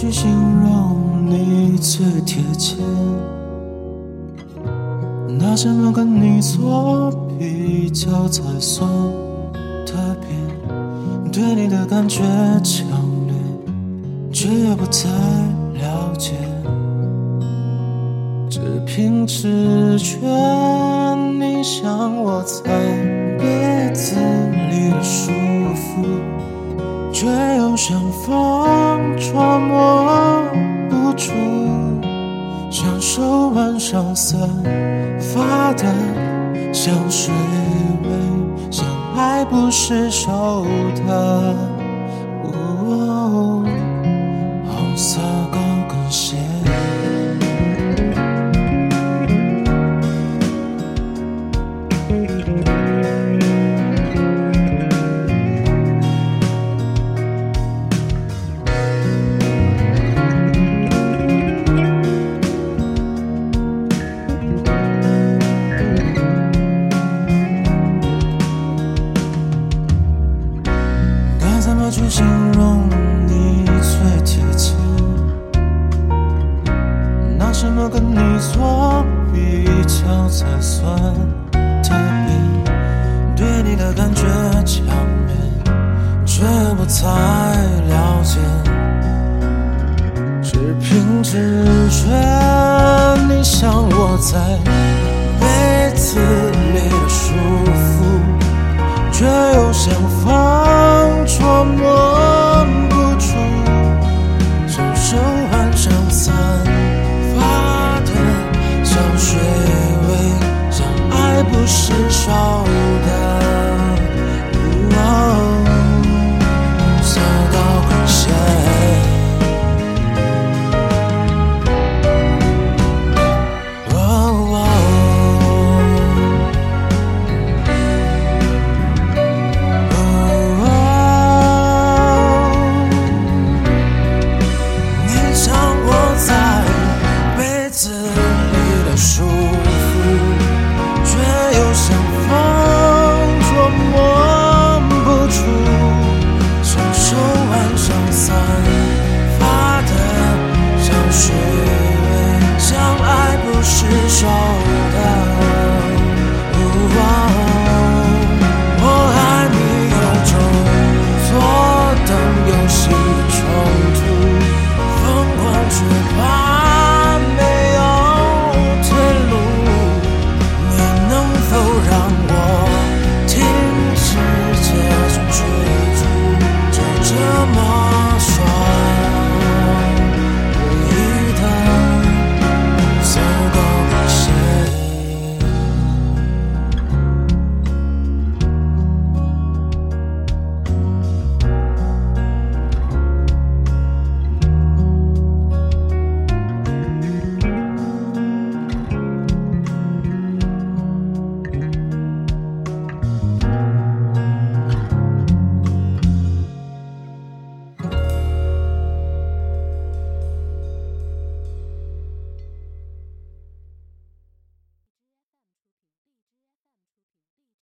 去形容你最贴切？拿什么跟你做比较才算特别？对你的感觉强烈，却又不太了解，只凭直觉，你像我在被子里的舒服，却又像风捉摸不住，享受晚上散发的香水味，像爱不释手的红色高跟鞋。怎么去形容你最贴切？拿什么跟你做比较才算特别？对你的感觉强烈，却不太了解，只凭直觉，你像我在被子里的舒服，却又像风捉摸不住，享受晚上散发的香水味，像爱不释手的红色高跟鞋。舒服，却又像风捉摸不住，享受晚上散发的香水味，像爱不释手。